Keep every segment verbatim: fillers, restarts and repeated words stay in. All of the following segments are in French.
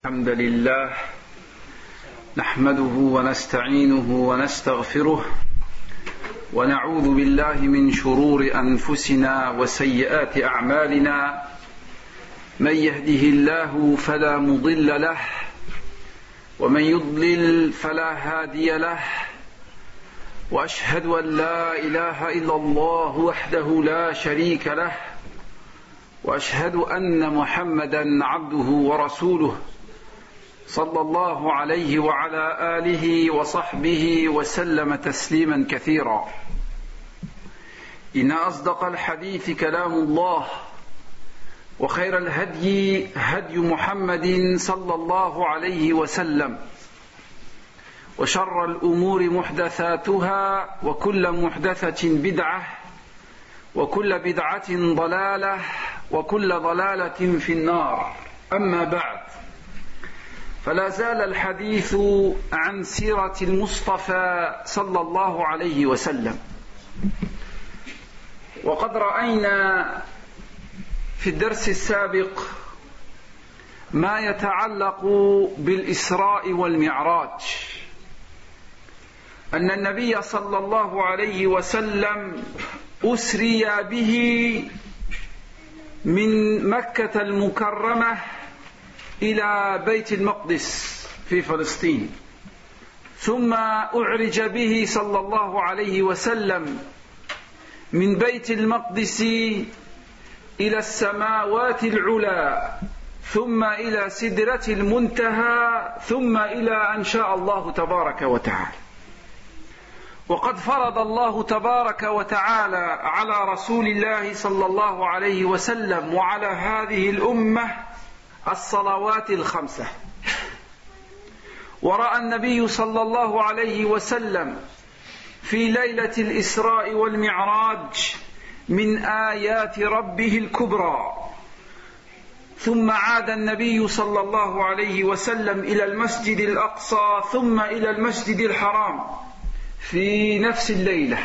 الحمد لله نحمده ونستعينه ونستغفره ونعوذ بالله من شرور أنفسنا وسيئات أعمالنا من يهده الله فلا مضل له ومن يضلل فلا هادي له وأشهد أن لا إله إلا الله وحده لا شريك له وأشهد أن محمدا عبده ورسوله صلى الله عليه وعلى آله وصحبه وسلم تسليما كثيرا. إن أصدق الحديث كلام الله وخير الهدي هدي محمد صلى الله عليه وسلم وشر الأمور محدثاتها وكل محدثة بدعة وكل بدعة ضلالة وكل ضلالة في النار. أما بعد، فلا زال الحديث عن سيرة المصطفى صلى الله عليه وسلم، وقد رأينا في الدرس السابق ما يتعلق بالإسراء والمعراج، أن النبي صلى الله عليه وسلم أسري به من مكة المكرمة إلى بيت المقدس في فلسطين، ثم أعرج به صلى الله عليه وسلم من بيت المقدس إلى السماوات العلى، ثم إلى سدرة المنتهى، ثم إلى أن شاء الله تبارك وتعالى. وقد فرض الله تبارك وتعالى على رسول الله صلى الله عليه وسلم وعلى هذه الأمة الصلوات الخمسة. ورأى النبي صلى الله عليه وسلم في ليلة الإسراء والمعراج من آيات ربه الكبرى، ثم عاد النبي صلى الله عليه وسلم إلى المسجد الأقصى ثم إلى المسجد الحرام في نفس الليلة،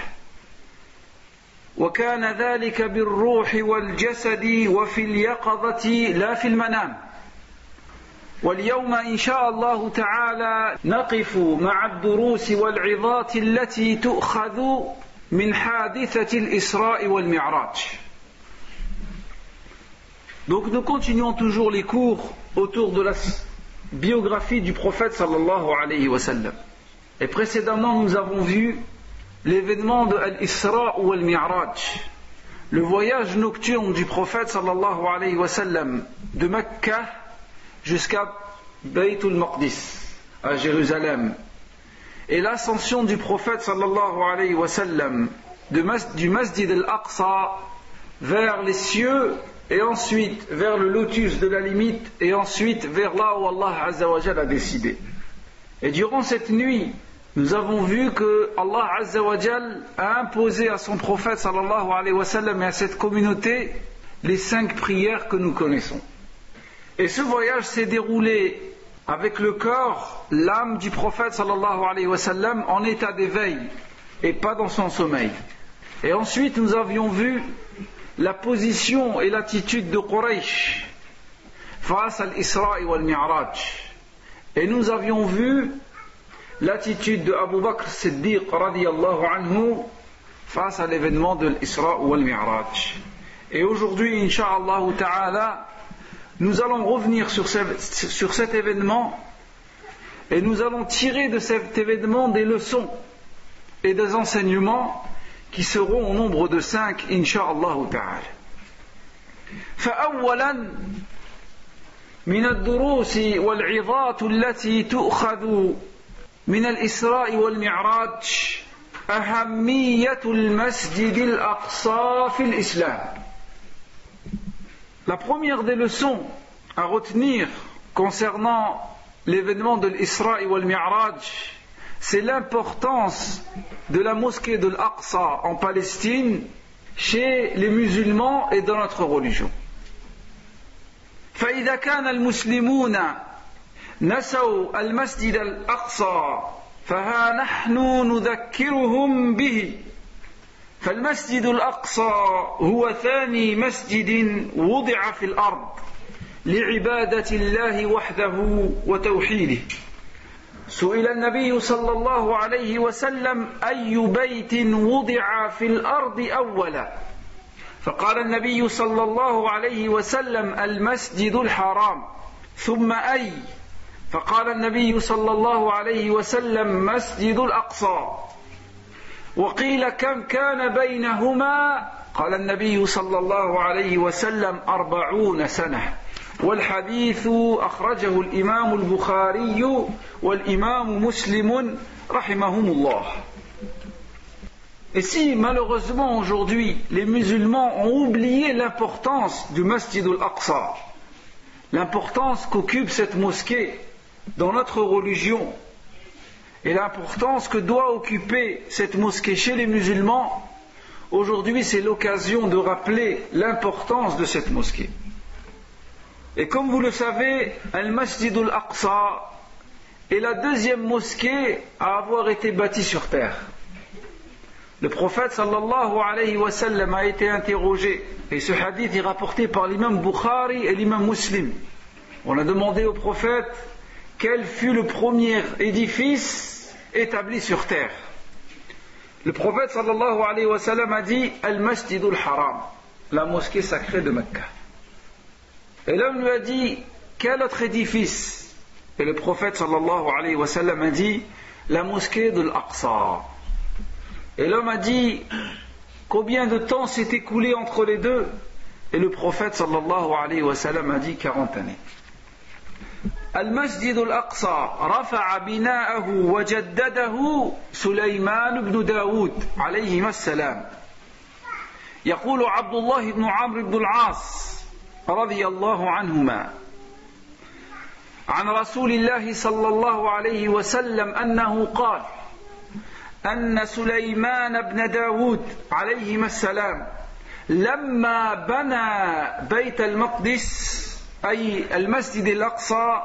وكان ذلك بالروح والجسد وفي اليقظة لا في المنام. واليوم إن شاء الله تعالى نقف مع الدروس والعظات التي تؤخذ من حادثة الإسراء والمعراج. Donc nous continuons toujours les cours autour de la biographie du prophète sallallahu alayhi wa sallam. Et précédemment nous avons vu l'événement de Al-Isra ou Al-Mi'raj, le voyage nocturne du prophète sallallahu alayhi wa sallam de Mecca jusqu'à Bayt al-Maqdis à Jérusalem, et l'ascension du prophète sallallahu alayhi wa sallam de mas- du Masjid al-Aqsa vers les cieux, et ensuite vers le lotus de la limite, et ensuite vers là où Allah Azza wa Jalla a décidé. Et durant cette nuit, nous avons vu que Allah Azza wa Jalla a imposé à son prophète sallallahu alayhi wa sallam et à cette communauté les cinq prières que nous connaissons. Et ce voyage s'est déroulé avec le corps, l'âme du prophète sallallahu alayhi wa sallam en état d'éveil et pas dans son sommeil. Et ensuite nous avions vu la position et l'attitude de Quraysh face à l'Isra wal Mi'raj. Et nous avions vu l'attitude de Abu Bakr Siddiq radiyallahu anhu face à l'événement de l'Isra wal Mi'raj. Et aujourd'hui, incha'Allah ta'ala, nous allons revenir sur, ce, sur cet événement, et nous allons tirer de cet événement des leçons et des enseignements qui seront au nombre de cinq, incha'Allah ta'ala. فأولا من الدروس والعظات التي تؤخذ من الإسراء والمعراج أهمية المسجد الأقصى في الإسلام. La première des leçons à retenir concernant l'événement de l'Isra wal Mi'raj, c'est l'importance de la mosquée de l'Aqsa en Palestine chez les musulmans et dans notre religion. فإذا كان المسلمون نسوا المسجد الأقصى فها نحن نذكرهم به. فالمسجد الأقصى هو ثاني مسجد وضع في الأرض لعبادة الله وحده وتوحيده. سئل النبي صلى الله عليه وسلم أي بيت وضع في الأرض أولا؟ فقال النبي صلى الله عليه وسلم المسجد الحرام. ثم أي؟ فقال النبي صلى الله عليه وسلم مسجد الأقصى. وقيل كم كان بينهما؟ قال النبي صلى الله عليه وسلم أربعون سنة. والحديث أخرجه الإمام البخاري والإمام مسلم رحمهم الله. Et si malheureusement aujourd'hui les musulmans ont oublié l'importance du Masjid al-Aqsa, l'importance qu'occupe cette mosquée dans notre religion et l'importance que doit occuper cette mosquée chez les musulmans, aujourd'hui c'est l'occasion de rappeler l'importance de cette mosquée. Et comme vous le savez, Al-Masjid al-Aqsa est la deuxième mosquée à avoir été bâtie sur terre. Le prophète sallallahu alayhi wa sallam a été interrogé, et ce hadith est rapporté par l'imam Bukhari et l'imam Muslim. On a demandé au prophète quel fut le premier édifice établi sur terre. Le prophète sallallahu alayhi wa sallam a dit Al-Masjid al-Haram, la mosquée sacrée de Mecca. Et l'homme lui a dit quel autre édifice? Et le prophète sallallahu alayhi wa sallam a dit la mosquée de l'Aqsa. Et l'homme a dit combien de temps s'est écoulé entre les deux? Et le prophète sallallahu alayhi wa sallam a dit quarante années. Al-Masjid al-Aqsa rafa'a bina'ahu wa jaddadahu Sulayman ibn Daoud alayhi as-salam. يقول عبد الله بن عمرو بن العاص رضي الله عنهما عن رسول الله صلى الله عليه وسلم أنه قال أن سليمان بن داود عليهما السلام لما بنى بيت المقدس أي المسجد الأقصى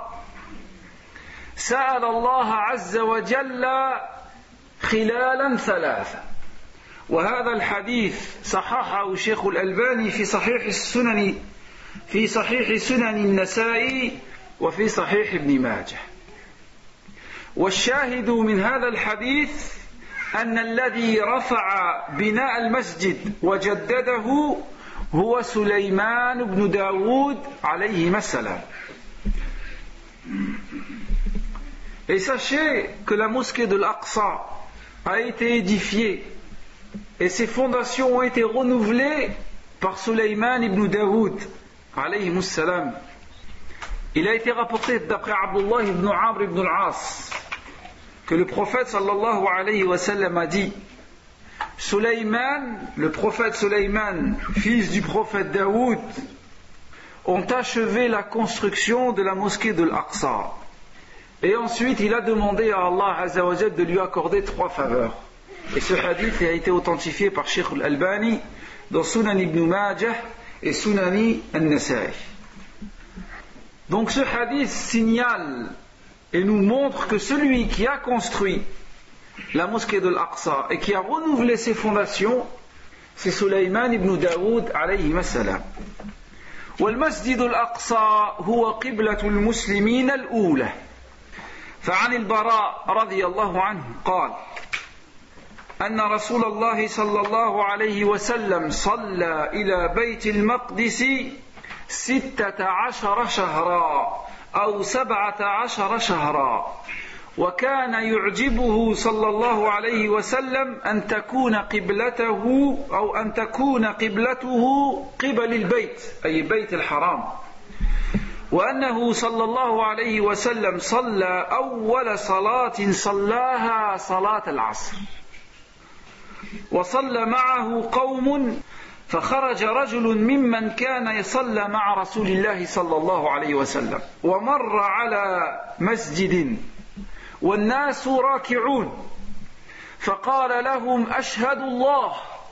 سأل الله عز وجل خلالا ثلاثة. وهذا الحديث صححه الشيخ الألباني في صحيح السنن في صحيح سنن النسائي وفي صحيح ابن ماجه. والشاهد من هذا الحديث أن الذي رفع بناء المسجد وجدده هو سليمان بن داود عليه السلام. Et sachez que la mosquée de l'Aqsa a été édifiée et ses fondations ont été renouvelées par Sulayman ibn Daoud alayhi salam. Il a été rapporté d'après Abdullah ibn Amr ibn al-As que le prophète sallallahu alayhi wa sallam a dit Sulayman, le prophète Sulayman, fils du prophète Daoud, ont achevé la construction de la mosquée de l'Aqsa. Et ensuite il a demandé à Allah Azza wa Jal de lui accorder trois faveurs. Et ce hadith a été authentifié par Cheikh al-Albani dans Sunan ibn Majah et Sunani al-Nasa'i. Donc ce hadith signale et nous montre que celui qui a construit la mosquée de l'Aqsa et qui a renouvelé ses fondations, c'est Sulayman ibn Daoud alayhi salam. والمسجد الأقصى هو قبلة المسلمين الأولى. فعن البراء رضي الله عنه قال أن رسول الله صلى الله عليه وسلم صلى إلى بيت المقدس ستة عشر شهرا أو سبعة عشر شهرا وكان يعجبه صلى الله عليه وسلم أن تكون قبلته أو أن تكون قبلته قبل البيت أي بيت الحرام وأنه صلى الله عليه وسلم صلى أول صلاة صلاها صلاة العصر وصلى معه قوم فخرج رجل ممن كان يصلى مع رسول الله صلى الله عليه وسلم ومر على مسجد والناس راكعون فقال لهم أشهد الله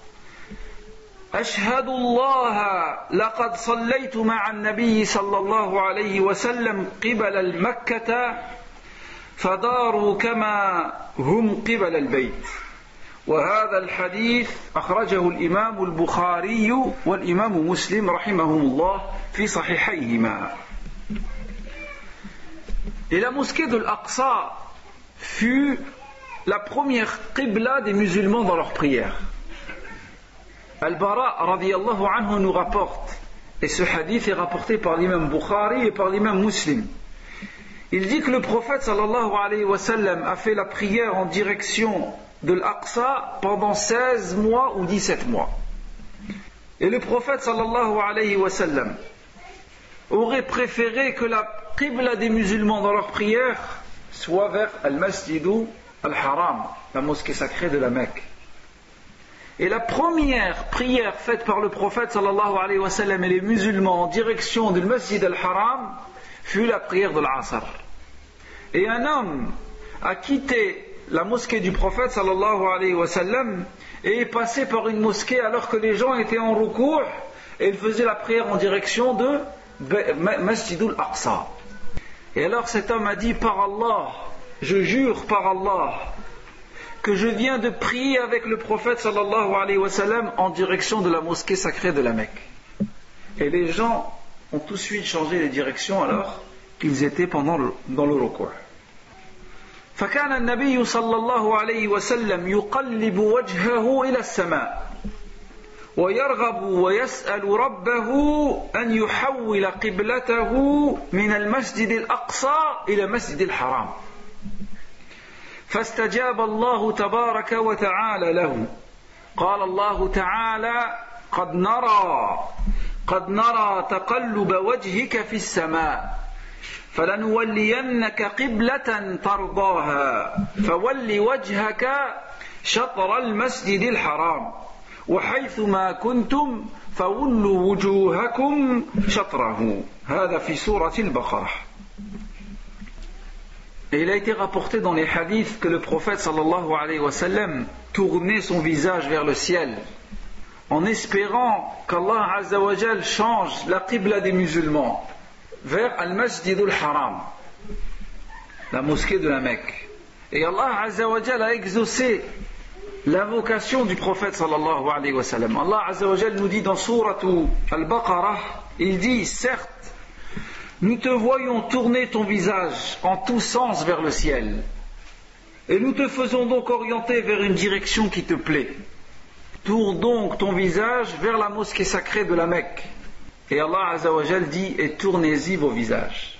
أشهد الله لقد صليت مع النبي صلى الله عليه وسلم قبل المكة فداروا كما هم قبل البيت. وهذا الحديث أخرجه الإمام البخاري والإمام مسلم رحمهم الله في صحيحيهما. Et la mosquée de l'Aqsa fut la première qibla des musulmans dans leur prière. Al-Bara radiyallahu anhu nous rapporte, et ce hadith est rapporté par l'imam Bukhari et par l'imam Muslim. Il dit que le prophète sallallahu alayhi wa sallam a fait la prière en direction de l'Aqsa pendant seize mois ou dix-sept mois. Et le prophète sallallahu alayhi wa sallam aurait préféré que la qibla des musulmans dans leur prière soit vers Al-Masjidu Al-Haram, la mosquée sacrée de la Mecque. Et la première prière faite par le prophète sallallahu alayhi wa sallam et les musulmans en direction du Masjid Al-Haram fut la prière de l'Asr. Et un homme a quitté la mosquée du prophète sallallahu alayhi wa sallam et est passé par une mosquée alors que les gens étaient en rukou' et il faisait la prière en direction de Masjidul Aqsa. Et alors cet homme a dit: par Allah, je jure par Allah que je viens de prier avec le prophète sallallahu alayhi wa sallam en direction de la mosquée sacrée de la Mecque. Et les gens ont tout de suite changé les directions alors qu'ils étaient pendant le, dans le rukou'. فكان النبي صلى الله عليه وسلم يقلب وجهه إلى السماء ويرغب ويسأل ربه أن يحول قبلته من المسجد الأقصى إلى مسجد الحرام فاستجاب الله تبارك وتعالى له. قال الله تعالى: قد نرى قد نرى تقلب وجهك في السماء فلنولينك قبلة ترضاها فول وجهك شطر المسجد الحرام وحيثما كنتم فولوا وجوهكم شطره. هذا في سورة البقرة. Et il a été rapporté dans les hadiths que le prophète sallallahu alayhi wa sallam tournait son visage vers le ciel en espérant qu'Allah azza wa jal change la qibla des musulmans vers Al-Masjid Al-Haram, la mosquée de la Mecque. Et Allah azza wa jal a exaucé l'invocation du prophète sallallahu alayhi wa sallam. Allah azza wa jal nous dit dans sourate Al-Baqarah, il dit: certes, nous te voyons tourner ton visage en tous sens vers le ciel, et nous te faisons donc orienter vers une direction qui te plaît. Tourne donc ton visage vers la mosquée sacrée de la Mecque. Et Allah azza wa jal dit: et tournez-y vos visages.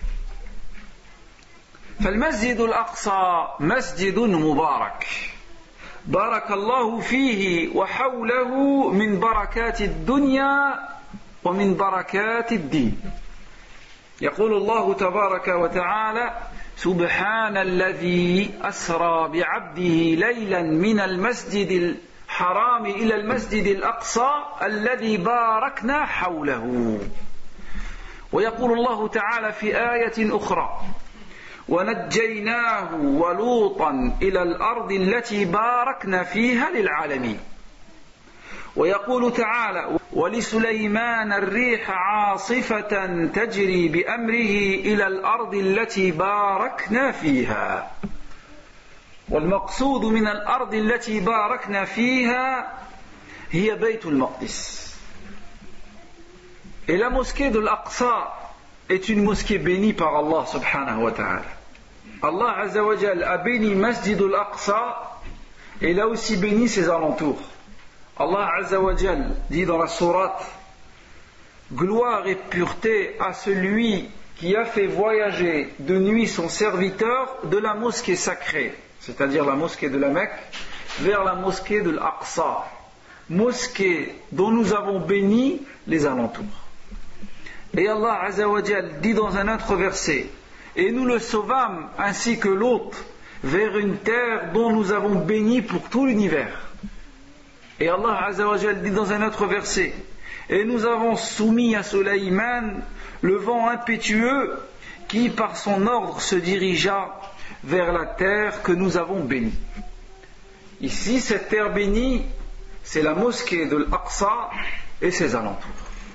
فالمسجد الأقصى مسجد مبارك بارك الله فيه وحوله من بركات الدنيا ومن بركات الدين. يقول الله تبارك وتعالى: سبحان الذي أسرى بعبده ليلا من المسجد الحرام إلى المسجد الأقصى الذي باركنا حوله. ويقول الله تعالى في آية أخرى: ونجيناه ولوطا إلى الأرض التي باركنا فيها للعالمين. ويقول تعالى: ولسليمان الريح عاصفة تجري بأمره إلى الأرض التي باركنا فيها. والمقصود من الأرض التي باركنا فيها هي بيت المقدس. Et la mosquée de l'Aqsa est une mosquée bénie par Allah subhanahu wa ta'ala. Allah azza wa jal a béni Masjid al-Aqsa et il a aussi béni ses alentours. Allah azza wa jal dit dans la sourate: gloire et pureté à celui qui a fait voyager de nuit son serviteur de la mosquée sacrée, c'est-à-dire la mosquée de la Mecque, vers la mosquée de l'Aqsa, mosquée dont nous avons béni les alentours. Et Allah azza wa jal dit dans un autre verset: et nous le sauvâmes ainsi que l'autre vers une terre dont nous avons béni pour tout l'univers. Et Allah azza wa jal dit dans un autre verset: et nous avons soumis à Sulayman le vent impétueux qui par son ordre se dirigea vers la terre que nous avons bénie. Ici, cette terre bénie, c'est la mosquée de l'Aqsa et ses alentours.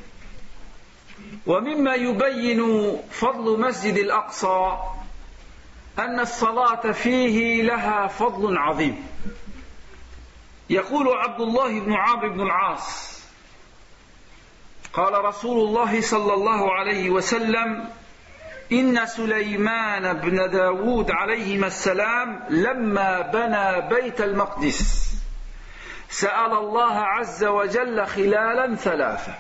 ومما يبين فضل مسجد الأقصى أن الصلاة فيه لها فضل عظيم. يقول عبد الله بن عمرو بن العاص: قال رسول الله صلى الله عليه وسلم: إن سليمان بن داود عليهما السلام لما بنى بيت المقدس سأل الله عز وجل خلالا ثلاثة.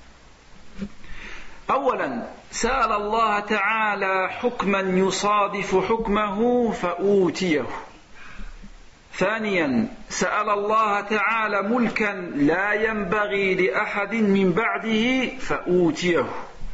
أولا سأل الله تعالى حكما يصادف حكمه فأوتيه. ثانيا سأل الله تعالى ملكا لا ينبغي لأحد من بعده فأوتيه.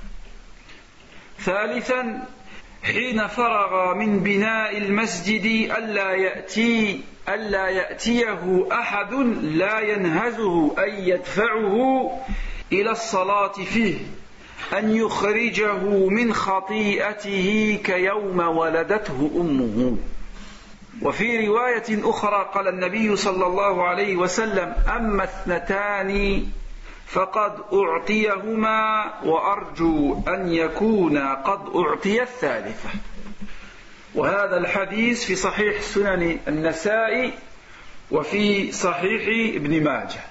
ثالثا حين فرغ من بناء المسجد ألا يأتي ألا يأتيه أحد لا ينهزه أي يدفعه إلى الصلاة فيه، أن يخرجه من خطيئته كيوم ولدته أمه. وفي رواية أخرى قال النبي صلى الله عليه وسلم أما اثنتان فقد أعطيهما وأرجو أن يكون قد أعطي الثالثة. وهذا الحديث في صحيح سنن النسائي وفي صحيح ابن ماجه.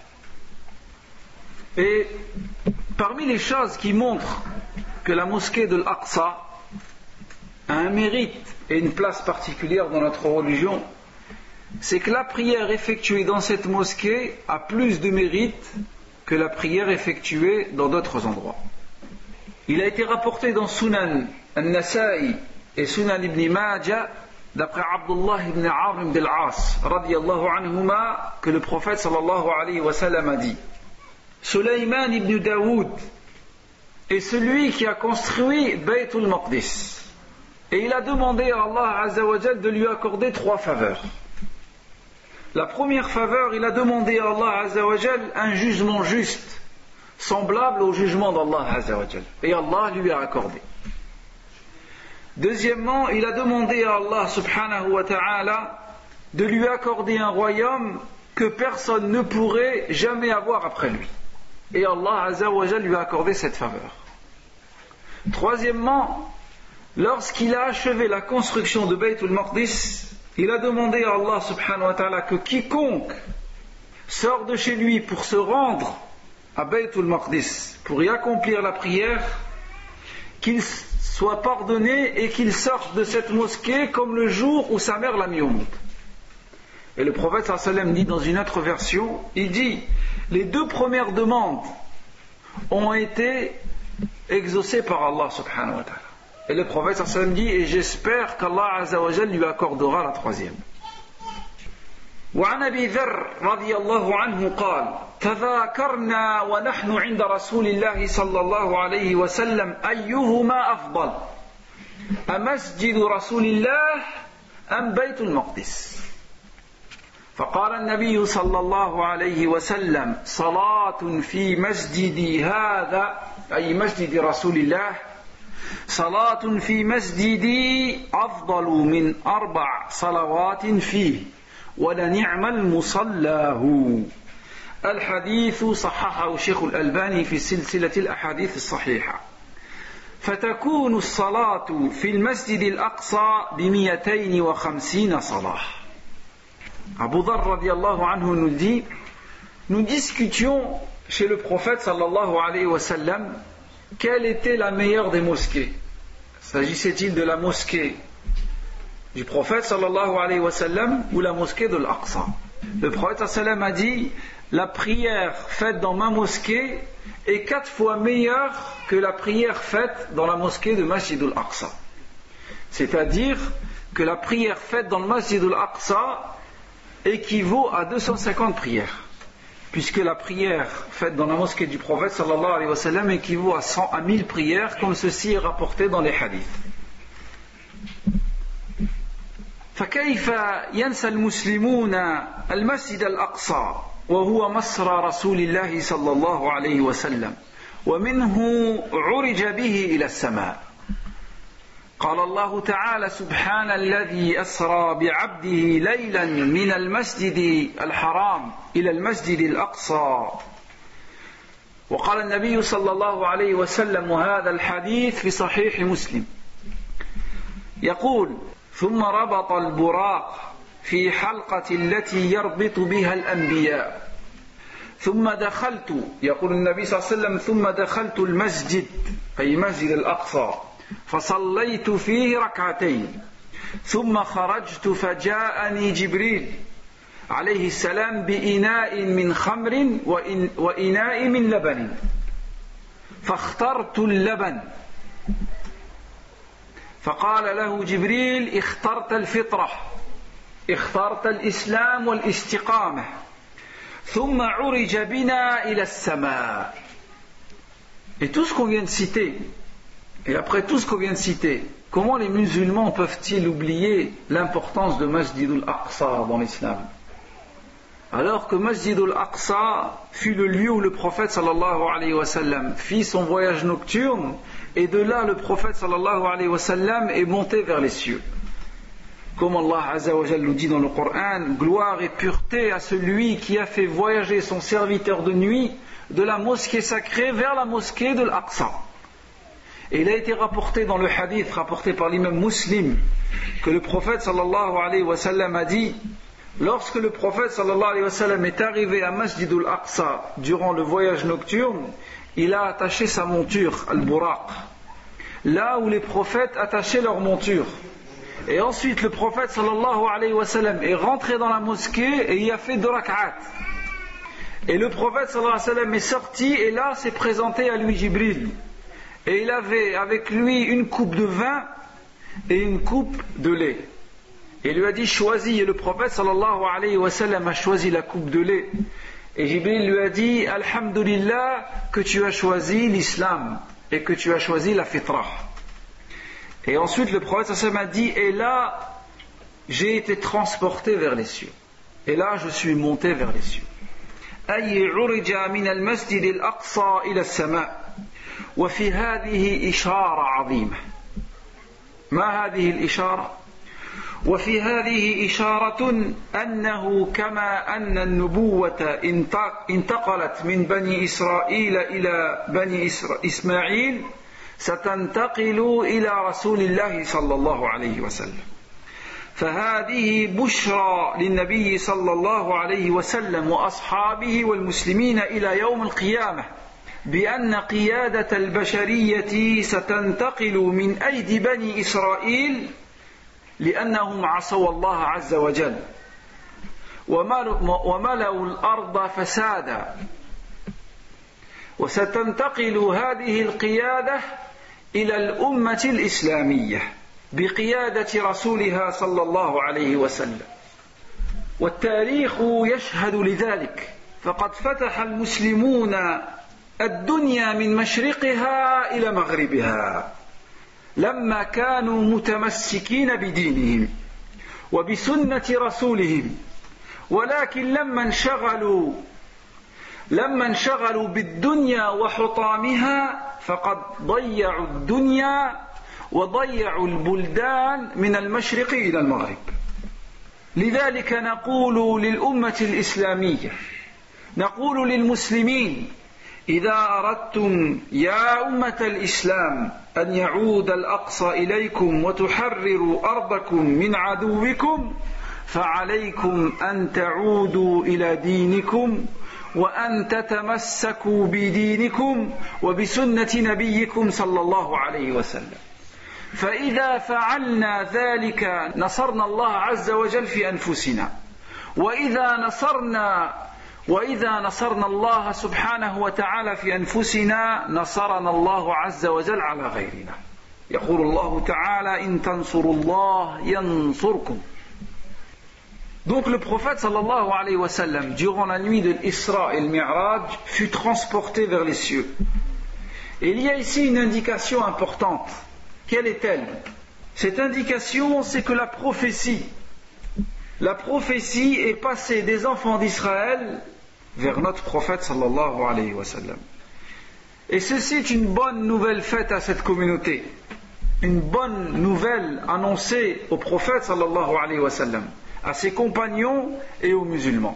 Et parmi les choses qui montrent que la mosquée de l'Aqsa a un mérite et une place particulière dans notre religion, c'est que la prière effectuée dans cette mosquée a plus de mérite que la prière effectuée dans d'autres endroits. Il a été rapporté dans Sunan al-Nasa'i et Sunan ibn Majah d'après Abdullah ibn Amr ibn al-As radiyallahu anhuma que le prophète sallallahu alayhi wa sallam a dit: Sulayman ibn Daoud est celui qui a construit Bayt al-Maqdis. Et il a demandé à Allah Azza wa Jal de lui accorder trois faveurs. La première faveur, il a demandé à Allah Azza wa Jal un jugement juste, semblable au jugement d'Allah Azza wa Jal. Et Allah lui a accordé. Deuxièmement, il a demandé à Allah subhanahu wa ta'ala de lui accorder un royaume que personne ne pourrait jamais avoir après lui. Et Allah Azza wa Jal lui a accordé cette faveur. Troisièmement, lorsqu'il a achevé la construction de Bayt al-Maqdis, il a demandé à Allah subhanahu wa ta'ala que quiconque sort de chez lui pour se rendre à Bayt al-Maqdis, pour y accomplir la prière, qu'il soit pardonné et qu'il sorte de cette mosquée comme le jour où sa mère l'a mis au monde. Et le prophète sallallahu alayhi wa sallam dit dans une autre version, il dit, les deux premières demandes ont été exaucées par Allah subhanahu wa ta'ala. Et le prophète sallallahu alayhi wa sallam dit, et j'espère qu'Allah azza wa jalla lui accordera la troisième. وعن أبي ذر رضي الله عنه قال تذاكرنا ونحن عند رسول الله صلى الله عليه وسلم أيهما أفضل أمسجد رسول الله أم بيت المقدس فقال النبي صلى الله عليه وسلم صلاة في مسجدي هذا أي مسجد رسول الله صلاة في مسجدي أفضل من أربع صلوات فيه ولنعم المصلاه. الحديث صححه الشيخ الألباني في سلسلة الأحاديث الصحيحة. فتكون الصلاة في المسجد الأقصى بمئتين وخمسين صلاة. Abu Dharr radiallahu anhu nous dit, nous discutions chez le prophète sallallahu alayhi wa sallam quelle était la meilleure des mosquées. S'agissait-il de la mosquée du prophète sallallahu alayhi wa sallam ou la mosquée de l'Aqsa? Le prophète sallallahu alayhi wa sallam a dit, la prière faite dans ma mosquée est quatre fois meilleure que la prière faite dans la mosquée de Masjid al-Aqsa. C'est-à-dire que la prière faite dans le Masjid al-Aqsa équivaut à deux cent cinquante prières, puisque la prière faite dans la mosquée du prophète sallallahu alayhi wa sallam équivaut à cent à mille prières, comme ceci est rapporté dans les hadiths. فكيف ينسى المسلمون المسجد الأقصى وهو مسرى رسول الله صلى الله عليه وسلم ومنه عرج به إلى السماء. قال الله تعالى سبحان الذي أسرى بعبده ليلا من المسجد الحرام إلى المسجد الأقصى. وقال النبي صلى الله عليه وسلم وهذا الحديث في صحيح مسلم يقول ثم ربط البراق في حلقة التي يربط بها الأنبياء ثم دخلت يقول النبي صلى الله عليه وسلم ثم دخلت المسجد أي مسجد الأقصى فصليت فيه ركعتين ثم خرجت فجاءني جبريل عليه السلام بإناء من خمر وإناء من لبن فاخترت اللبن فقال له جبريل اخترت الفطرة اخترت الإسلام والاستقامة ثم عرج بنا إلى السماء. Et tout ce qu'on vient de citer, et après tout ce qu'on vient de citer, comment les musulmans peuvent-ils oublier l'importance de Masjid al-Aqsa dans l'islam, alors que Masjid al-Aqsa fut le lieu où le prophète sallallahu alayhi wa sallam fit son voyage nocturne, et de là le prophète sallallahu alayhi wa sallam est monté vers les cieux. Comme Allah Azza wa Jalla nous dit dans le Coran, gloire et pureté à celui qui a fait voyager son serviteur de nuit de la mosquée sacrée vers la mosquée de l'Aqsa. Et il a été rapporté dans le hadith rapporté par l'imam Muslim que le prophète sallallahu alayhi wa sallam a dit, lorsque le prophète sallallahu alayhi wa sallam est arrivé à Masjid al-Aqsa durant le voyage nocturne, il a attaché sa monture, al-Buraq, là où les prophètes attachaient leur monture. Et ensuite le prophète sallallahu alayhi wa sallam est rentré dans la mosquée et y a fait deux rak'at. Et le prophète sallallahu alayhi wa sallam est sorti et là s'est présenté à lui Jibril. Et il avait avec lui une coupe de vin et une coupe de lait. Et il lui a dit choisis, et le prophète sallallahu alayhi wa sallam a choisi la coupe de lait. Et Jibril lui a dit alhamdulillah que tu as choisi l'islam et que tu as choisi la fitra. Et ensuite le prophète sallallahu alayhi wa sallam a dit et là j'ai été transporté vers les cieux. Et là je suis monté vers les cieux. أي عرج من المسجد الأقصى إلى السماء وفي هذه إشارة عظيمة. ما هذه الإشارة؟ وفي هذه إشارة أنه كما أن النبوة انتقلت من بني إسرائيل إلى بني إسماعيل ستنتقل إلى رسول الله صلى الله عليه وسلم. فهذه بشرى للنبي صلى الله عليه وسلم وأصحابه والمسلمين إلى يوم القيامة بأن قيادة البشرية ستنتقل من أيدي بني إسرائيل لأنهم عصوا الله عز وجل وملأوا الأرض فسادا، وستنتقل هذه القيادة إلى الأمة الإسلامية بقيادة رسولها صلى الله عليه وسلم. والتاريخ يشهد لذلك، فقد فتح المسلمون الدنيا من مشرقها إلى مغربها لما كانوا متمسكين بدينهم وبسنة رسولهم، ولكن لما انشغلوا لما انشغلوا بالدنيا وحطامها فقد ضيعوا الدنيا وضيعوا البلدان من المشرق إلى المغرب. لذلك نقول للأمة الإسلامية، نقول للمسلمين إذا أردتم يا أمة الإسلام أن يعود الأقصى إليكم وتحرروا أرضكم من عدوكم فعليكم أن تعودوا إلى دينكم وأن تتمسكوا بدينكم وبسنة نبيكم صلى الله عليه وسلم. فإذا فعلنا ذلك نصرنا الله عز وجل في أنفسنا، وإذا نصرنا وإذا نصرنا الله سبحانه وتعالى في أنفسنا نصرنا الله عز وجل على غيرنا. يقول الله تعالى إن تنصروا الله ينصركم. Donc le prophète sallallahu alayhi wa sallam, durant la nuit de l'Isra et le Mi'raj, fut transporté vers les cieux. Et il y a ici une indication importante. Quelle est-elle? Cette indication, c'est que la prophétie, la prophétie est passée des enfants d'Israël vers notre prophète sallallahu alayhi wa sallam. Et ceci est une bonne nouvelle faite à cette communauté, une bonne nouvelle annoncée au prophète sallallahu alayhi wa sallam, à ses compagnons et aux musulmans,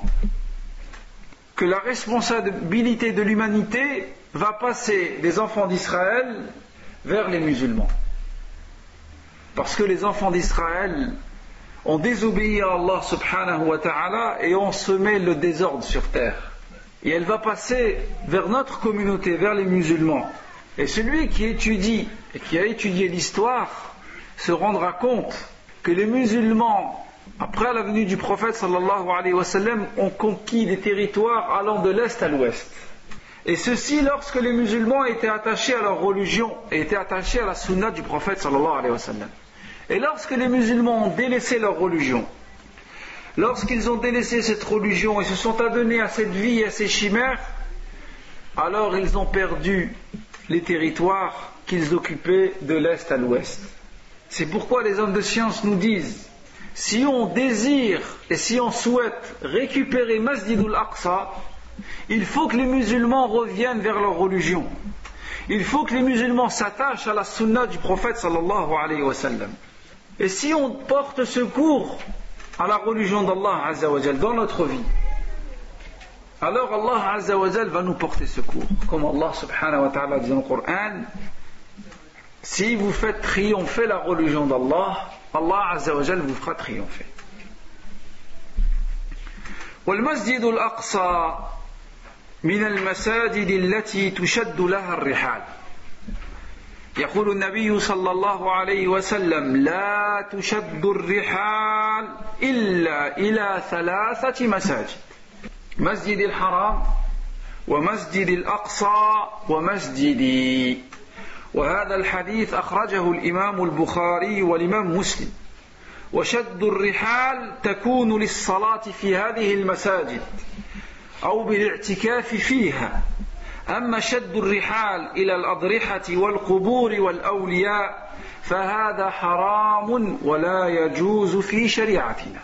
que la responsabilité de l'humanité va passer des enfants d'Israël vers les musulmans, parce que les enfants d'Israël ont désobéi à Allah subhanahu wa ta'ala et ont semé le désordre sur terre, et elle va passer vers notre communauté, vers les musulmans, Et celui qui étudie et qui a étudié l'histoire se rendra compte que les musulmans, après la venue du prophète sallallahu alayhi wa sallam, ont conquis des territoires allant de l'est à l'ouest. Et ceci lorsque les musulmans étaient attachés à leur religion et étaient attachés à la sunna du prophète sallallahu alayhi wa sallam. Et lorsque les musulmans ont délaissé leur religion, lorsqu'ils ont délaissé cette religion et se sont adonnés à cette vie et à ces chimères, alors ils ont perdu les territoires qu'ils occupaient de l'est à l'ouest. C'est pourquoi les hommes de science nous disent, si on désire et si on souhaite récupérer Masjid al-Aqsa, il faut que les musulmans reviennent vers leur religion. Il faut que les musulmans s'attachent à la sunna du prophète sallallahu alayhi wa sallam. Et si on porte secours à la religion d'Allah azza wa jal dans notre vie, alors Allah azza wa jal va nous porter secours. Comme Allah subhanahu wa ta'ala dit dans le Coran, si vous faites triompher la religion d'Allah, Allah azza wa jal vous fera triompher. والمسجد الأقصى من المساجد التي تشد لها الرحال. يقول النبي صلى الله عليه وسلم لا تشد الرحال إلا إلى ثلاثة مساجد: مسجد الحرام ومسجد الأقصى ومسجدي. وهذا الحديث أخرجه الإمام البخاري والإمام مسلم. وشد الرحال تكون للصلاة في هذه المساجد أو بالاعتكاف فيها. أما شد الرحال إلى الأضرحة والقبور والأولياء فهذا حرام ولا يجوز في شريعتنا.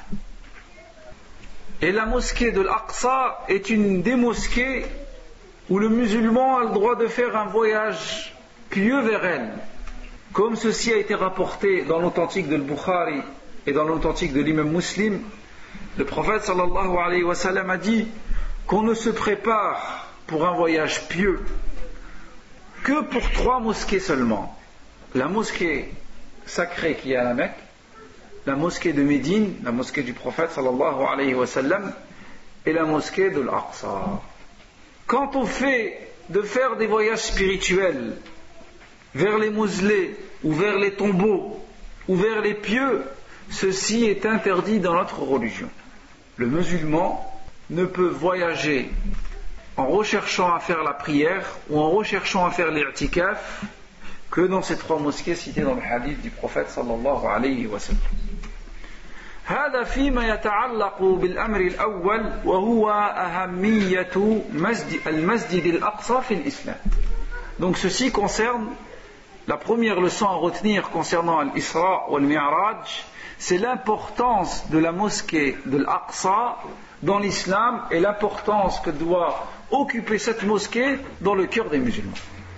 Et la mosquée de l'Aqsa est une des mosquées où le musulman a le droit de faire un voyage pieux vers elle, comme ceci a été rapporté dans l'authentique de Bukhari et dans l'authentique de l'imam Muslim. Le prophète sallallahu alayhi wa sallam a dit qu'on ne se prépare pour un voyage pieux que pour trois mosquées seulement: la mosquée sacrée qui est à la Mecque, la mosquée de Médine, la mosquée du prophète sallallahu alayhi wa sallam, et la mosquée de l'Aqsa. Quant au fait de faire des voyages spirituels vers les mausolées ou vers les tombeaux ou vers les pieux, ceci est interdit dans notre religion. Le musulman ne peut voyager en recherchant à faire la prière ou en recherchant à faire l'i'tikaf que dans ces trois mosquées citées dans le hadith du prophète sallallahu alayhi wa sallam. هذا فيما يتعلق بالأمر الأول وهو أهمية مسجد المسجد الأقصى في الإسلام. Donc ceci concerne la première leçon à retenir concernant l'Isra ou le Mi'raj, c'est l'importance de la mosquée de l'Aqsa dans l'islam et l'importance que doit occuper cette mosquée dans le cœur des musulmans.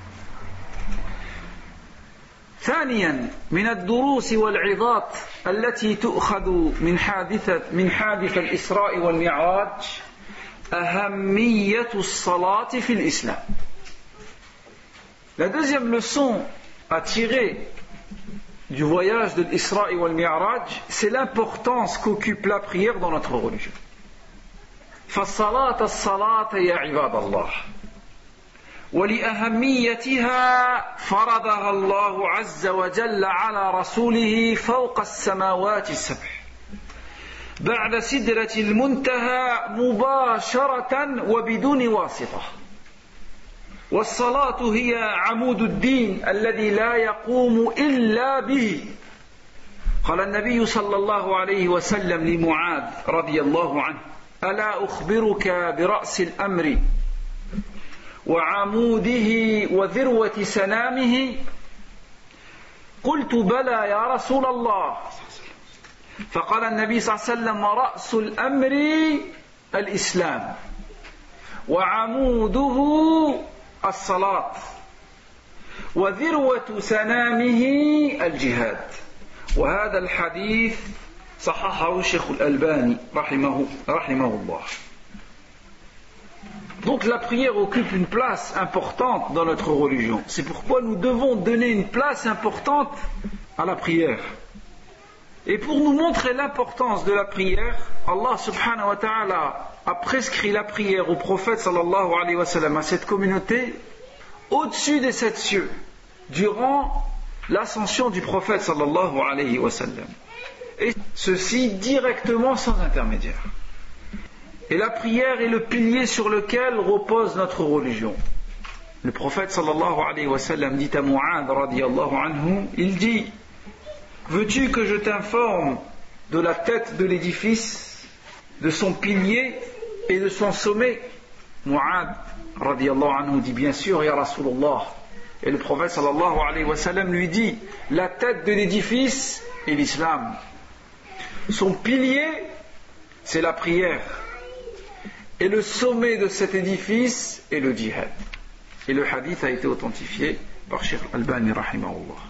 ثانيا من الدروس والعظات التي تؤخذ من حادثة من حادث الإسراء والمعراج أهمية الصلاة في الإسلام. La deuxième leçon à tirer du voyage de l'Isra et wal Mi'raj, c'est l'importance qu'occupe la prière dans notre religion. فالصلاة الصلاة يا عباد الله، ولأهميتها فرضها الله عز وجل على رسوله فوق السماوات السبع بعد سدرة المنتهى مباشرة وبدون واسطة. والصلاة هي عمود الدين الذي لا يقوم إلا به. قال النبي صلى الله عليه وسلم لمعاذ رضي الله عنه: ألا أخبرك برأس الأمر وعموده وذروة سنامه؟ قلت بلى يا رسول الله. فقال النبي صلى الله عليه وسلم: رأس الأمر الإسلام وعموده الصلاة وذروة سنامه الجهاد. وهذا الحديث صححه الشيخ الألباني رحمه رحمه الله. Donc la prière occupe une place importante dans notre religion. C'est pourquoi nous devons donner une place importante à la prière. Et pour nous montrer l'importance de la prière, Allah subhanahu wa ta'ala a prescrit la prière au prophète sallallahu alayhi wa sallam, à cette communauté, au-dessus des sept cieux durant l'ascension du prophète sallallahu alayhi wa sallam. Et ceci directement sans intermédiaire. Et la prière est le pilier sur lequel repose notre religion. Le prophète sallallahu alayhi wa sallam dit à Mu'adh radiyallahu anhu, il dit: veux-tu que je t'informe de la tête de l'édifice, de son pilier et de son sommet? Mu'adh radiyallahu anhu dit: bien sûr, ya Rasulullah. Et le prophète sallallahu alayhi wa sallam lui dit: la tête de l'édifice est l'islam. Son pilier, c'est la prière. Et le sommet de cet édifice est le djihad. Et le hadith a été authentifié par Cheikh Al-Albani rahimahullah.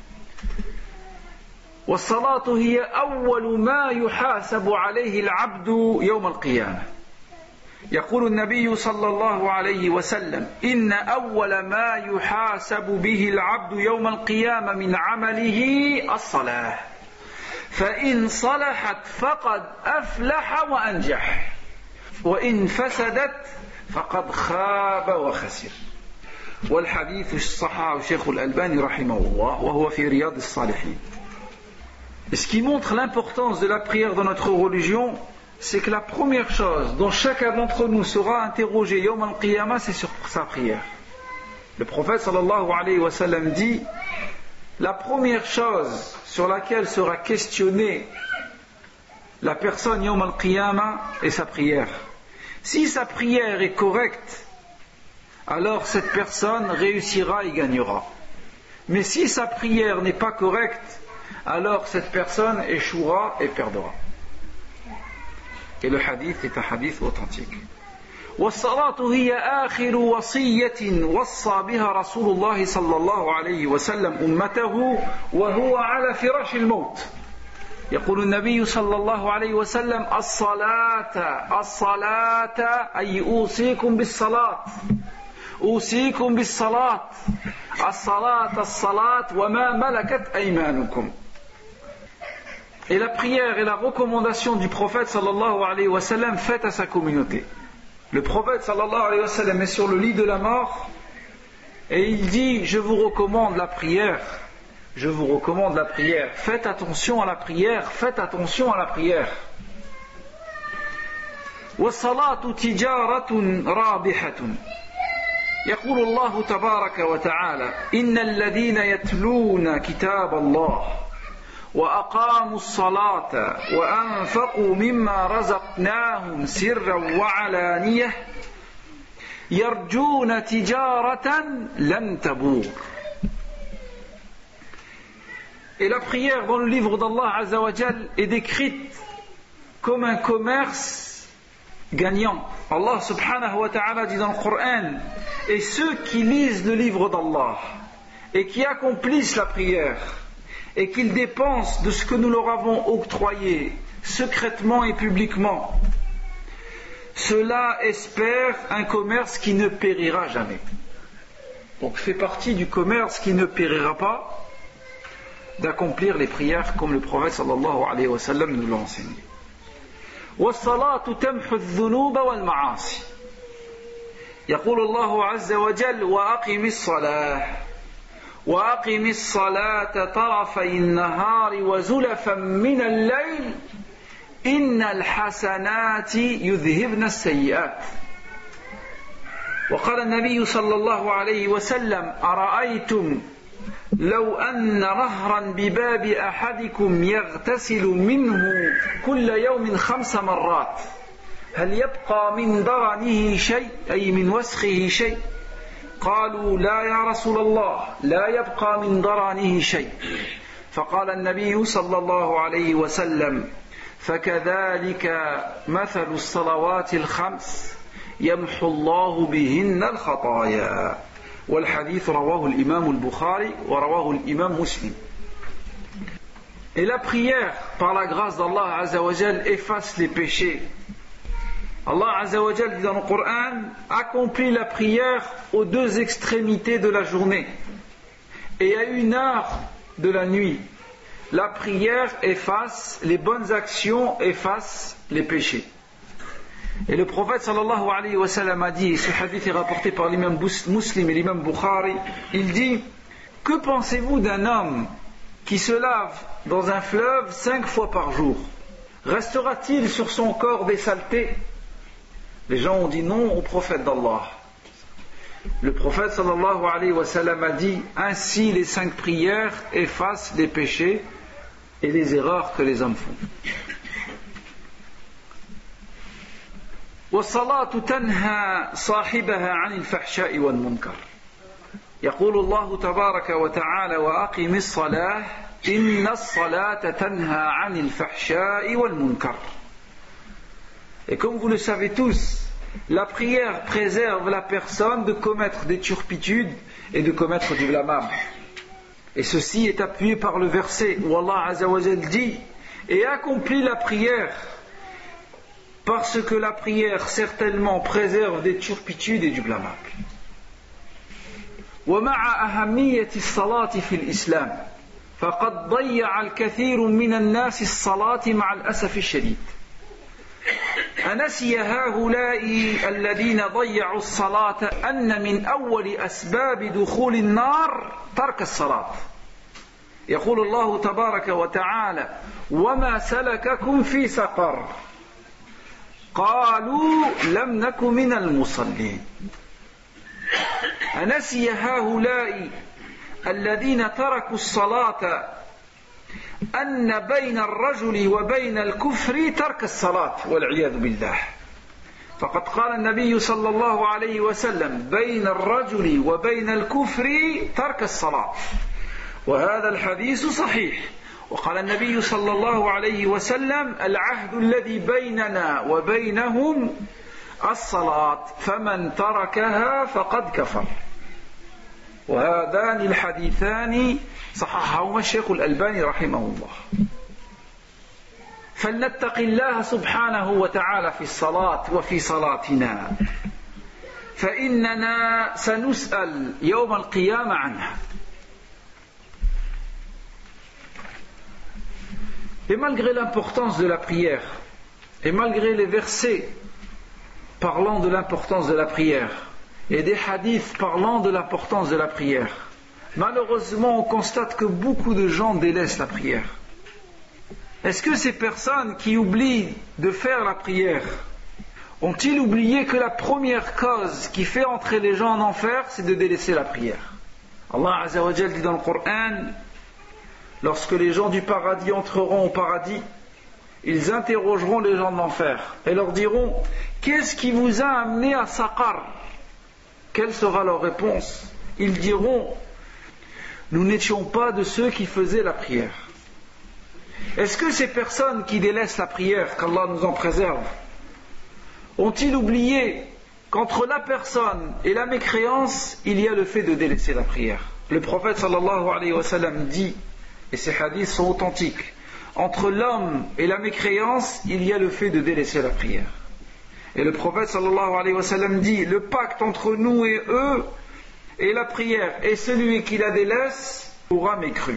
والصلاة هي أول ما يحاسب عليه العبد يوم القيامة. يقول النبي صلى الله عليه وسلم: إن أول ما يحاسب به العبد يوم القيامة من عمله الصلاة فإن صلحت فقد أفلح وأنجح وإن فسدت فقد خاب وخسر. والحديث صححه الشيخ الألباني رحمه الله وهو في رياض الصالحين. Et ce qui montre l'importance de la prière dans notre religion, c'est que la première chose dont chacun d'entre nous sera interrogé Yawm al-Qiyamah, c'est sur sa prière. Le prophète sallallahu alayhi wa sallam dit: la première chose sur laquelle sera questionnée la personne Yawm al-Qiyamah est sa prière. Si sa prière est correcte, alors cette personne réussira et gagnera. Mais si sa prière n'est pas correcte, alors cette personne échouera et perdra. Et le hadith est un hadith authentique. والصلاة هي آخر وصية وصى بها رسول الله صلى الله عليه وسلم أمته وهو على فراش الموت. يقول النبي صلى الله عليه وسلم: الصلاة الصلاة أي أوصيكم بالصلاة أوصيكم بالصلاة الصلاة الصلاة وما ملكت أيمانكم. Et la prière et la recommandation du prophète sallallahu alayhi wa sallam faite à sa communauté. Le prophète sallallahu alayhi wa sallam est sur le lit de la mort et il dit: je vous recommande la prière, je vous recommande la prière, faites attention à la prière, faites attention à la prière. والصلاة تجارة رابحة. يقول الله تبارك وتعالى: إن الذين يتلون كتاب الله وأقاموا الصلاة وأنفقوا مما رزقناهم سرا وعلانية يرجون تجارة لن تبور. Et la prière dans le livre d'Allah Azza wa Jal est décrite comme un commerce gagnant. Allah subhanahu wa ta'ala dit dans le Coran: et ceux qui lisent le livre d'Allah et qui accomplissent la prière et qu'ils dépensent de ce que nous leur avons octroyé secrètement et publiquement, ceux-là espèrent un commerce qui ne périra jamais. Donc fait partie du commerce qui ne périra pas d'accomplir les prières comme le prophète sallallahu alayhi wa sallam nous l'a enseigné. والصلاة تمحو الذنوب والمعاصي. يقول الله عز وجل: وأقم الصلاة وأقم الصلاة طرفي النهار وزلفا من الليل إن الحسنات يذهبن السيئات. وقال النبي صلى الله عليه وسلم: أرأيتم لو أن نهرا بباب أحدكم يغتسل منه كل يوم خمس مرات هل يبقى من درنه شيء أي من وسخه شيء؟ قالوا: لا يا رسول الله لا يبقى من درنه شيء. فقال النبي صلى الله عليه وسلم: فكذلك مثل الصلوات الخمس يمحو الله بهن الخطايا. والحديث رواه الإمام البخاري ورواه الإمام مسلم. Et la prière, par la grâce d'Allah Azza wa Jal, efface les péchés. Allah Azza wa Jal dit dans le Coran: accomplit la prière aux deux extrémités de la journée et à une heure de la nuit. La prière efface les bonnes actions, efface les péchés. Et le prophète sallallahu alayhi wa sallam a dit, et ce hadith est rapporté par l'imam Muslim et l'imam Bukhari, il dit: que pensez-vous d'un homme qui se lave dans un fleuve cinq fois par jour? Restera-t-il sur son corps des saletés? Les gens ont dit non au prophète d'Allah. Le prophète sallallahu alayhi wa sallam a dit: ainsi les cinq prières effacent les péchés et les erreurs que les hommes font. والصلاة تنهى صاحبها عن الفحشاء والمنكر. يقول الله تبارك وتعالى: وأقم الصلاة إن الصلاة تنهى عن الفحشاء والمنكر. Et comme vous le savez tous, la prière préserve la personne de commettre des turpitudes et de commettre du blâmable. Et ceci est appuyé par le verset où Allah Azza wa Jal dit: et accomplit la prière, parce que la prière certainement préserve des turpitudes et du blâmable. ومع أهمية الصلاة في الإسلام فقد ضيع الكثير من الناس الصلاة مع الأسف الشديد. أنسي هؤلاء الذين ضيعوا الصلاة أن من أول أسباب دخول النار ترك الصلاة. يقول الله تبارك وتعالى: وما سلككم في سقر قالوا لم نك من المصلين. أنسي هؤلاء الذين تركوا الصلاة أن بين الرجل وبين الكفر ترك الصلاة والعياذ بالله. فقد قال النبي صلى الله عليه وسلم: بين الرجل وبين الكفر ترك الصلاة. وهذا الحديث صحيح. وقال النبي صلى الله عليه وسلم: العهد الذي بيننا وبينهم الصلاة فمن تركها فقد كفر. وهذان الحديثان صححهما الشيخ الألباني رحمه الله. فلنتق الله سبحانه وتعالى في الصلاة وفي صلاتنا، فإننا سنسأل يوم القيامة عنها. Et malgré l'importance de la prière, et malgré les versets parlant de l'importance de la prière, et des hadiths parlant de l'importance de la prière, malheureusement on constate que beaucoup de gens délaissent la prière. Est-ce que ces personnes qui oublient de faire la prière ont-ils oublié que la première cause qui fait entrer les gens en enfer, c'est de délaisser la prière? Allah Azza wa Jal dit dans le Coran: lorsque les gens du paradis entreront au paradis, ils interrogeront les gens de l'enfer et leur diront: qu'est-ce qui vous a amené à Saqar? Quelle sera leur réponse? Ils diront: nous n'étions pas de ceux qui faisaient la prière. Est-ce que ces personnes qui délaissent la prière, qu'Allah nous en préserve, ont-ils oublié qu'entre la personne et la mécréance, il y a le fait de délaisser la prière? Le prophète sallallahu alayhi wa sallam dit, et ces hadiths sont authentiques: entre l'homme et la mécréance, il y a le fait de délaisser la prière. Et le prophète sallallahu alayhi wa sallam dit: le pacte entre nous et eux est la prière, et celui qui la délaisse aura mécru.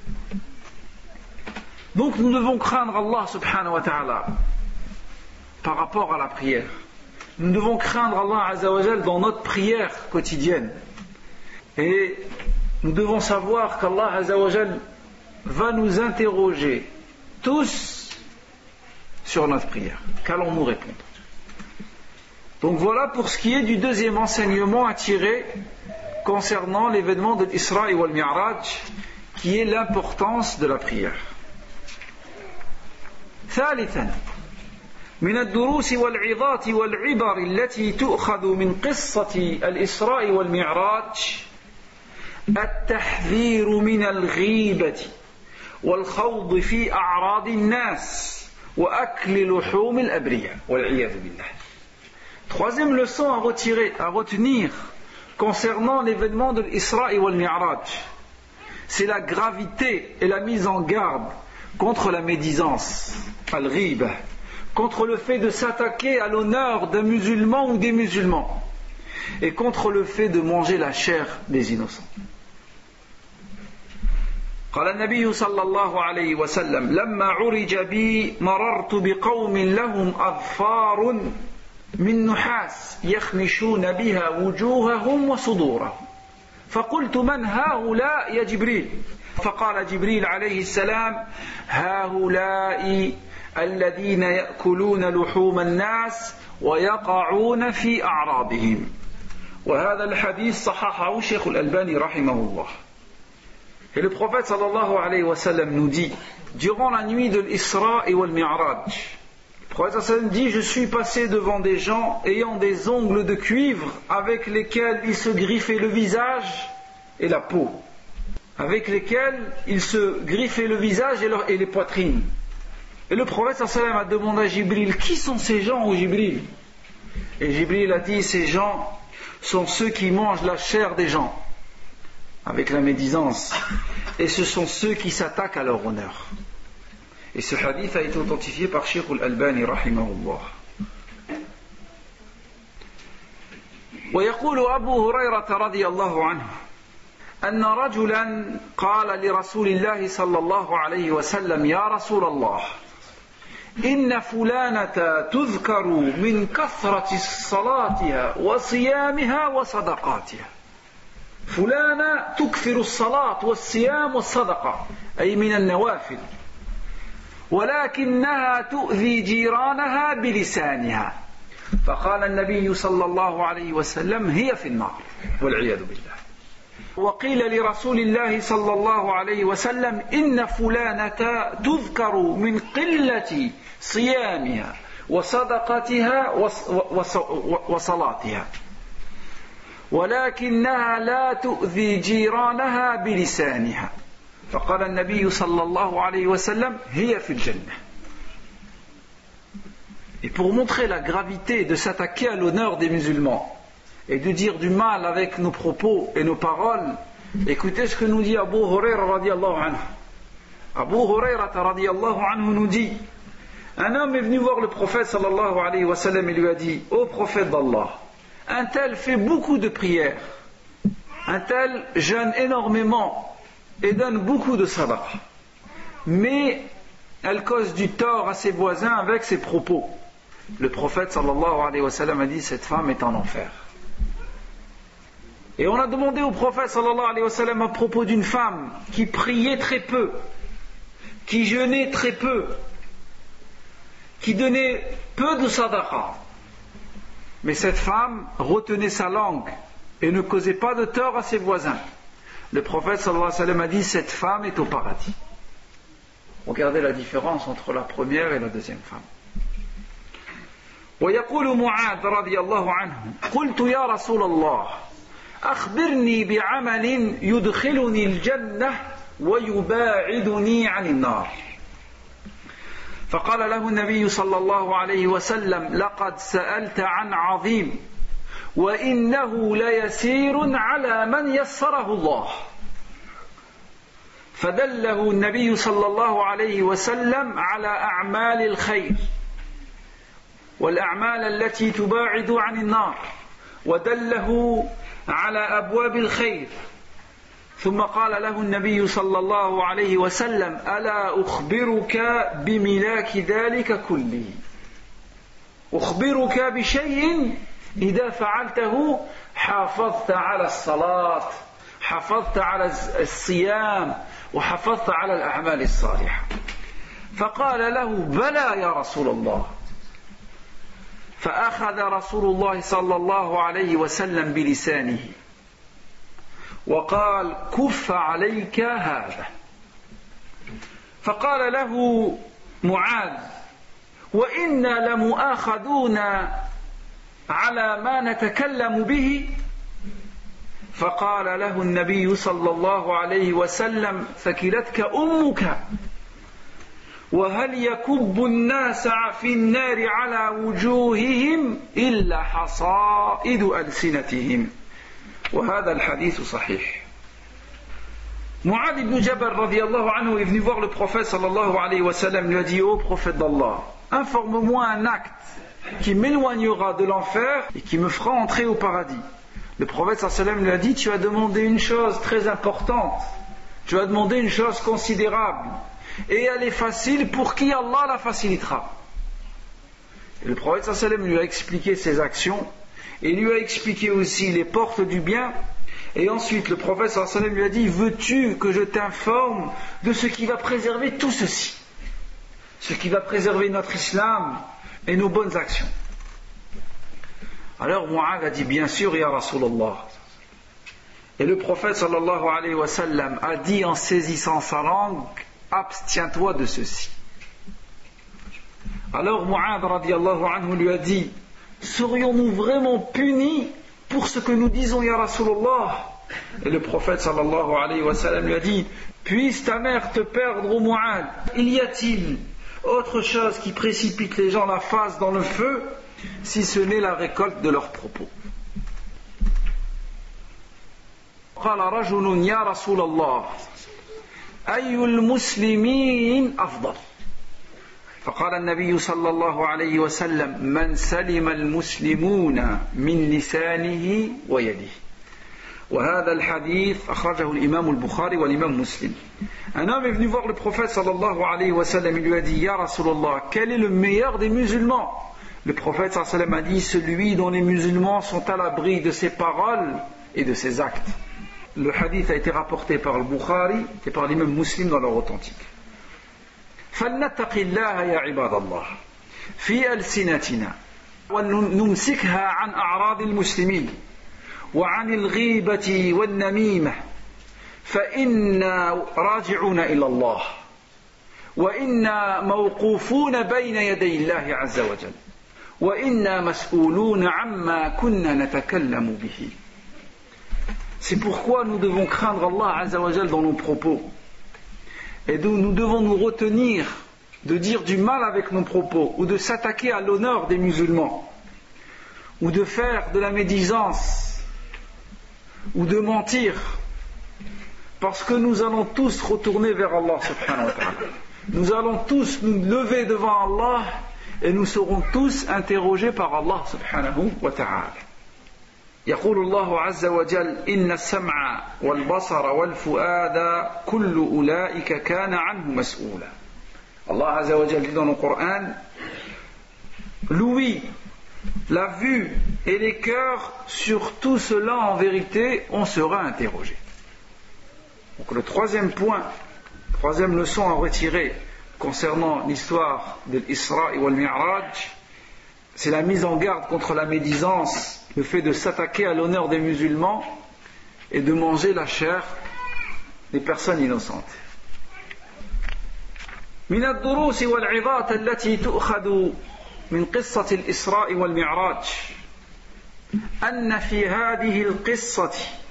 Donc nous devons craindre Allah subhanahu wa ta'ala par rapport à la prière. Nous devons craindre Allah azza wa jal dans notre prière quotidienne. Et nous devons savoir qu'Allah azza wa jal va nous interroger tous sur notre prière. Qu'allons-nous répondre? Donc voilà pour ce qui est du deuxième enseignement à tirer concernant l'événement de l'Isra wal Mi'raj, qui est l'importance de la prière. ثالثا من الدروس والعظات والعبر التي تؤخذ من قصة الإسراء والمعراج التحذير من الغيبة والخوض في أعراض الناس وأكل لحوم الأبرياء والعياذ بالله. Troisième leçon à retirer, à retenir concernant l'événement de l'Isra wal Mi'raj, c'est la gravité et la mise en garde contre la médisance, al-ghiba, contre le fait de s'attaquer à l'honneur d'un musulman ou des musulmans, et contre le fait de manger la chair des innocents. قال النبي صلى الله عليه وسلم: لما عرج بي مررت بقوم لهم أظفار من نحاس يخمشون بها وجوههم وصدورهم فقلت من هؤلاء يا جبريل فقال جبريل عليه السلام هؤلاء الذين يأكلون لحوم الناس ويقعون في أعراضهم وهذا الحديث صححه الشيخ الألباني رحمه الله. Et le prophète sallallahu alayhi wa sallam nous dit durant la nuit de l'Isra et wal Mi'raj, le prophète sallallahu alayhi wa sallam dit je suis passé devant des gens ayant des ongles de cuivre avec lesquels ils se griffaient le visage et la peau, avec lesquels ils se griffaient le visage et, leur, et les poitrines. Et le prophète sallallahu alayhi wa sallam a demandé à Jibril qui sont ces gens, ô Jibril? Et Jibril a dit ces gens sont ceux qui mangent la chair des gens avec la médisance et ce sont ceux qui s'attaquent à leur honneur. Et ce hadith a été authentifié par Cheikh al-Albani rahimahullah. ويقول أبو هريرة رضي الله عنه أن رجلا قال لرسول الله صلى الله عليه وسلم يا رسول الله إن فلانة تذكر من كثرة صلاتها وصيامها وصدقاتها. فلانة تكثر الصلاة والصيام والصدقة أي من النوافل ولكنها تؤذي جيرانها بلسانها. فقال النبي صلى الله عليه وسلم هي في النار والعياذ بالله. وقيل لرسول الله صلى الله عليه وسلم إن فلانة تذكر من قلة صيامها وصدقتها وصلاتها ولكنها لا تؤذي جيرانها بلسانها. فقال النبي صلى الله عليه وسلم هي في الجنة. Et pour montrer la gravité de s'attaquer à l'honneur des musulmans et de dire du mal avec nos propos et nos paroles, écoutez ce que nous dit Abu Huraira radiyallahu anhu. Abu Huraira radiyallahu anhu nous dit un homme est venu voir le prophète sallallahu alayhi wa sallam et lui a dit ô prophète d'Allah, un tel fait beaucoup de prières, un tel jeûne énormément et donne beaucoup de sadaqa, mais elle cause du tort à ses voisins avec ses propos. Le prophète sallallahu alayhi wa sallam a dit cette femme est en enfer. Et on a demandé au prophète sallallahu alayhi wa sallam à propos d'une femme qui priait très peu, qui jeûnait très peu, qui donnait peu de sadaqa, mais cette femme retenait sa langue et ne causait pas de tort à ses voisins. Le prophète sallallahu alayhi wa sallam a dit cette femme est au paradis. Regardez la différence entre la première et la deuxième femme. ويقول معاذ رضي الله عنه قلت يا رسول الله أخبرني بعمل يدخلني الجنة ويباعدني عن النار. فقال له النبي صلى الله عليه وسلم لقد سألت عن عظيم وإنه ليسير على من يسره الله. فدله النبي صلى الله عليه وسلم على أعمال الخير والأعمال التي تباعد عن النار ودله على أبواب الخير. ثم قال له النبي صلى الله عليه وسلم ألا أخبرك بملاك ذلك كله أخبرك بشيء إذا فعلته حافظت على الصلاة حافظت على الصيام وحافظت على الأعمال الصالحة. فقال له بلى يا رسول الله. فأخذ رسول الله صلى الله عليه وسلم بلسانه وقال كف عليك هذا. فقال له معاذ وإنا لمؤاخذون على ما نتكلم به. فقال له النبي صلى الله عليه وسلم ثكلتك أمك وهل يكب الناس في النار على وجوههم إلا حصائد ألسنتهم. وهذا الحديث صحيح. Mu'adh ibn Jabal radiyallahu anhu est venu voir le prophète sallallahu alayhi wa sallam, lui a dit ô prophète d'Allah, informe-moi un acte qui m'éloignera de l'enfer et qui me fera entrer au paradis. Le prophète sallallahu alayhi wa sallam lui a dit tu as demandé une chose très importante, tu as demandé une chose considérable et elle est facile pour qui Allah la facilitera. Et le prophète sallallahu alayhi wa sallam lui a expliqué ses actions et lui a expliqué aussi les portes du bien. Et ensuite le prophète sallallahu alayhi wa sallam lui a dit: veux-tu que je t'informe de ce qui va préserver tout ceci, ce qui va préserver notre islam et nos bonnes actions? Alors Mu'adh a dit: bien sûr, ya Rasulallah. Et le prophète sallallahu alayhi wa sallam a dit en saisissant sa langue: abstiens-toi de ceci. Alors Mu'adh radiyallahu anhu lui a dit: serions-nous vraiment punis pour ce que nous disons, ya Rasulallah? Et le prophète sallallahu alayhi wa sallam lui a dit: puisse ta mère te perdre, ô Mu'adh. Il y a-t-il autre chose qui précipite les gens la face dans le feu, si ce n'est la récolte de leurs propos? قال رجل يا رسول الله أي المسلمين أفضل؟ فقال النبي صلى الله عليه وسلم: من سلم المسلمون من لسانه ويده. وهذا الحديث أخرجه الإمام البخاري والإمام مسلم. Un homme est venu voir le prophète sallallahu alayhi wa sallam. Il lui a dit: Ya Rasulallah, quel est le meilleur des musulmans? Le prophète sallallahu alayhi wa sallam a dit: celui dont les musulmans sont à l'abri de ses paroles et de ses actes. Le hadith a été rapporté par le Bukhari et par l'imam Muslim dans leur authentique. فلنتق الله يا عباد الله في ألسنتنا ونمسكها عن أعراض المسلمين وعن الغيبة والنميمة فإنا راجعون إلى الله وإنا موقوفون بين يدي الله عز وجل وإنا مسؤولون عما كنا نتكلم به. C'est pourquoi nous devons craindre Allah Azza wa Jal dans nos propos. Et d'où nous devons nous retenir de dire du mal avec nos propos, ou de s'attaquer à l'honneur des musulmans, ou de faire de la médisance, ou de mentir, parce que nous allons tous retourner vers Allah subhanahu wa ta'ala. Nous allons tous nous lever devant Allah et nous serons tous interrogés par Allah subhanahu wa ta'ala. يقول الله عز وجل: إن السمع والبصر والفؤاد كل أولئك كان عنه مسؤولا. Allah Azza wa Jal dit dans le Coran: l'ouïe, la vue et les cœurs, sur tout cela en vérité on sera interrogé. Donc le troisième point, troisième leçon à retirer concernant l'histoire de l'Isra et wal Mi'raj, c'est la mise en garde contre la médisance, le fait de s'attaquer à l'honneur des musulmans et de manger la chair des personnes innocentes. من الدروس والعظات التي تؤخذ من قصة الإسراء والمعراج أن في هذه القصة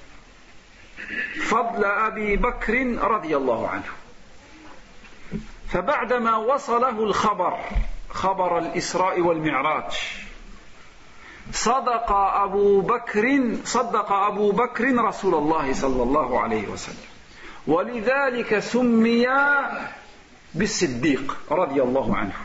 فضل أبي بكر رضي الله عنه. فبعدما وصله الخبر خبر الإسراء والمعراج صدق أبو بكر صدق أبو بكر رسول الله صلى الله عليه وسلم ولذلك سمي بالصديق رضي الله عنه.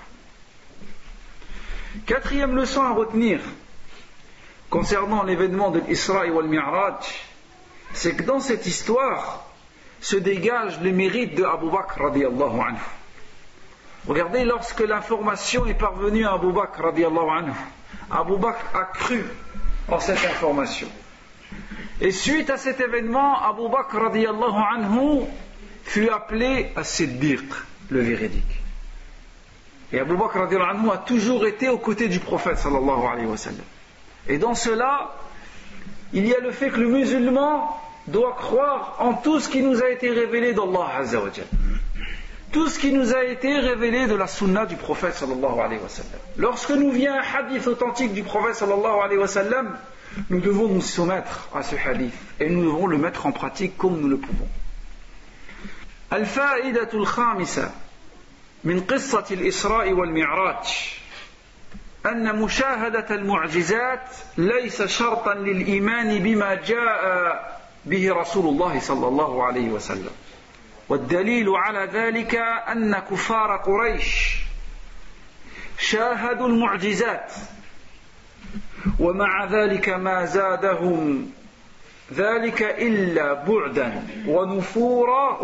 Quatrième leçon à retenir concernant l'événement de l'Isra et wal Mi'raj, c'est que dans cette histoire se dégagent les mérites de Abu Bakr radiyallahu anhu. Regardez, lorsque l'information est parvenue à Abu Bakr radiyallahu anhu, Abu Bakr a cru en cette information. Et suite à cet événement, Abu Bakr radiyallahu anhu fut appelé as-Siddiq, le véridique. Et Abu Bakr radiyallahu anhu a toujours été aux côtés du prophète sallallahu alayhi wa sallam. Et dans cela, il y a le fait que le musulman doit croire en tout ce qui nous a été révélé d'Allah Azza wa Jal. Tout ce qui nous a été révélé de la sunna du prophète sallallahu alayhi wa sallam. Lorsque nous vient un hadith authentique du prophète sallallahu alayhi wa sallam, nous devons nous soumettre à ce hadith et nous devons le mettre en pratique comme nous le pouvons. الفائدة الخامسة من قصة الإسراء والمعراج أن مشاهدة المعجزات ليس شرطا للإيمان بما جاء به رسول الله صلى الله عليه وسلم. والدليل على ذلك أن كفار قريش شاهدوا المعجزات ومع ذلك ما زادهم ذلك إلا بعدا ونفورا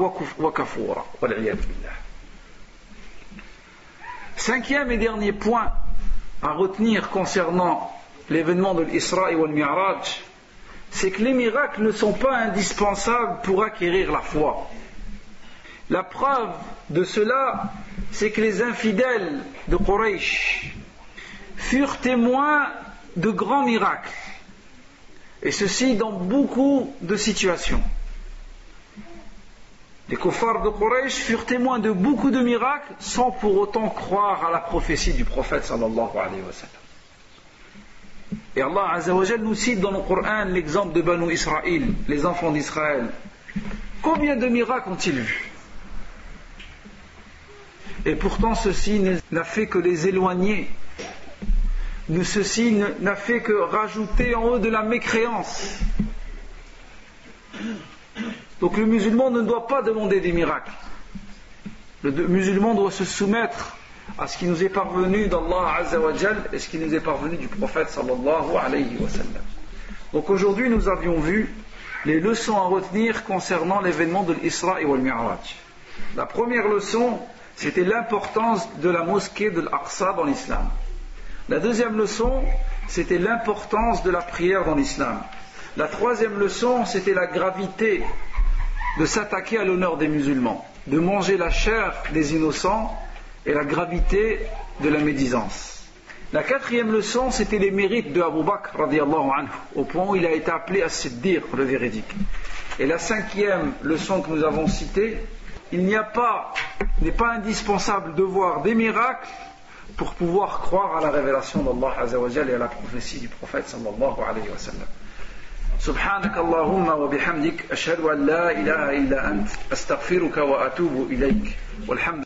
وكفورا والعياذ بالله. Cinquième et dernier point à retenir concernant l'événement de l'Isra et le Mi'raj, c'est que les miracles ne sont pas indispensables pour acquérir la foi. La preuve de cela, c'est que les infidèles de Quraysh furent témoins de grands miracles, et ceci dans beaucoup de situations. Les kuffars de Quraysh furent témoins de beaucoup de miracles sans pour autant croire à la prophétie du prophète sallallahu alayhi wa sallam. Et Allah Azza wa Jal nous cite dans le Coran l'exemple de Banu Israël, les enfants d'Israël. Combien de miracles ont-ils vus? Et pourtant ceci n'a fait que les éloigner. Ceci n'a fait que rajouter en eux de la mécréance. Donc le musulman ne doit pas demander des miracles. Le musulman doit se soumettre à ce qui nous est parvenu d'Allah Azza wa Jal et ce qui nous est parvenu du prophète sallallahu alayhi wa sallam. Donc aujourd'hui nous avions vu les leçons à retenir concernant l'événement de l'Isra et le Mi'raj. La première leçon, c'était l'importance de la mosquée de l'Aqsa dans l'islam. La deuxième leçon, c'était l'importance de la prière dans l'islam. La troisième leçon, c'était la gravité de s'attaquer à l'honneur des musulmans, de manger la chair des innocents et la gravité de la médisance. La quatrième leçon, c'était les mérites de Abu Bakr radiyallahu anhu, au point où il a été appelé as-Siddiq, le véridique. Et la cinquième leçon que nous avons citée, il n'y a pas, n'est pas indispensable de voir des miracles pour pouvoir croire à la révélation d'Allah Azza wa Jalla et à la prophétie du prophète sallallahu alayhi wa sallam. سبحانك اللهم وبحمدك أشهد أن لا إله إلا أنت أستغفرك وأتوب إليك والحمد